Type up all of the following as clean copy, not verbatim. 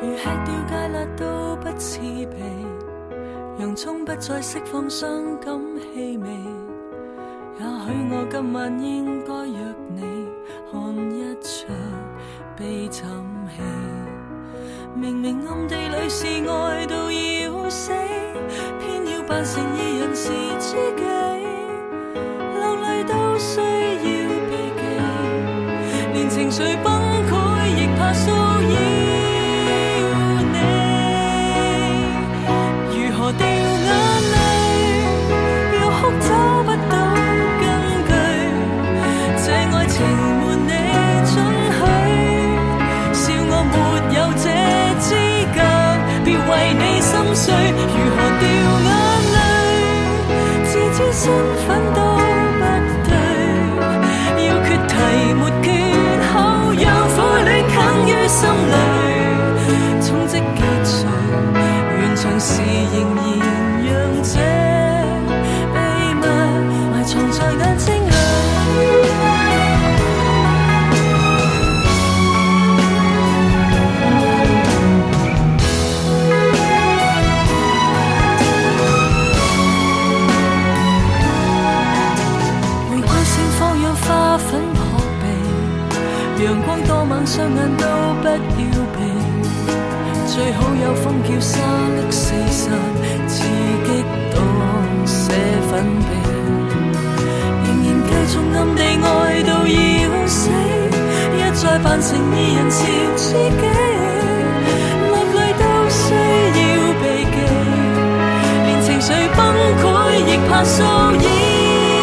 吃掉芥辣都不刺鼻，洋葱不再释放傷感氣味。也許我今晚應該約你看一場悲慘戲。明明暗地裏是愛到要死，偏要扮成二人是知己，流淚都需要避忌，連情緒崩潰亦怕騷擾你。如何掉眼淚，要哭找不到根據，這愛情沒你准許，笑我沒有這資格，別為你心碎。如何掉眼淚，自知身份都不對，要決題沒缺口，讓苦戀啃於心裏，衝擊結束，完場時仍然讓這秘密埋藏在眼睛裏。花粉撲鼻，陽光多猛，雙眼都不要避，最好有風叫沙粒四散，刺激到瀉粉鼻，仍然繼續暗地愛到要死，一再扮成二人潮知己，落淚都需要避忌，連情緒崩潰亦怕騷擾。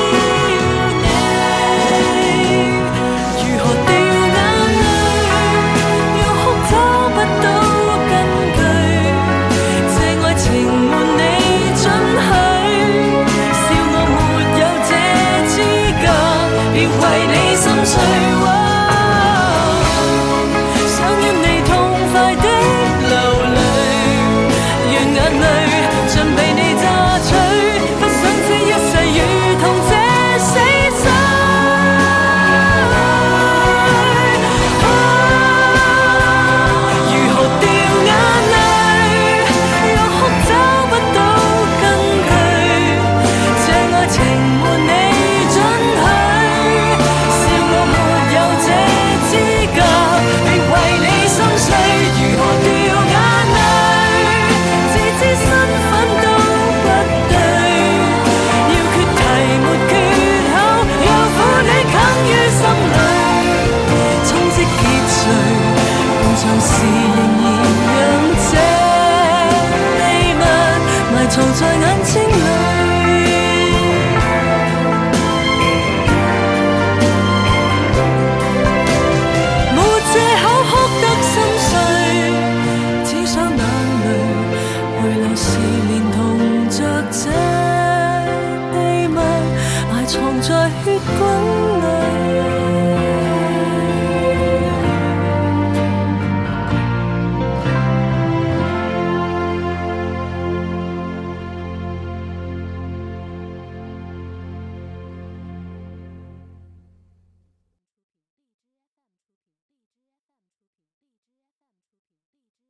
藏在眼睛裏，沒藉口哭得心碎，只想眼淚回流時連同着這秘密埋藏在血管。